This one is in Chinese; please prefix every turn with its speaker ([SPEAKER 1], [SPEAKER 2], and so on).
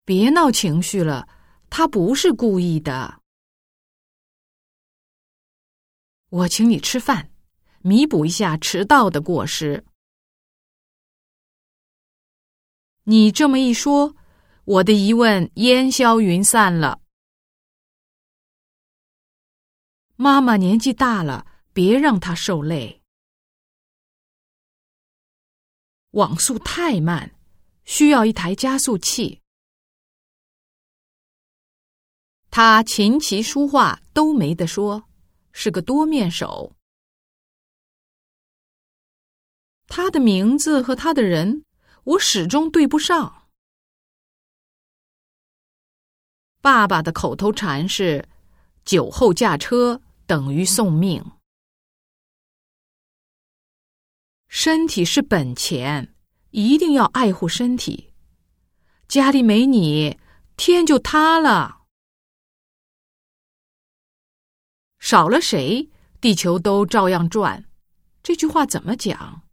[SPEAKER 1] 别闹情绪了，他不是故意的。我请你吃饭，弥补一下迟到的过失。你这么一说，我的疑问烟消云散了。妈妈年纪大了，别让她受累。网速太慢，需要一台加速器。他琴棋书画都没得说，是个多面手。他的名字和他的人，我始终对不上。爸爸的口头禅是“酒后驾车等于送命”。身体是本钱，一定要爱护身体。家里没你，天就塌了。少了谁，地球都照样转。这句话怎么讲？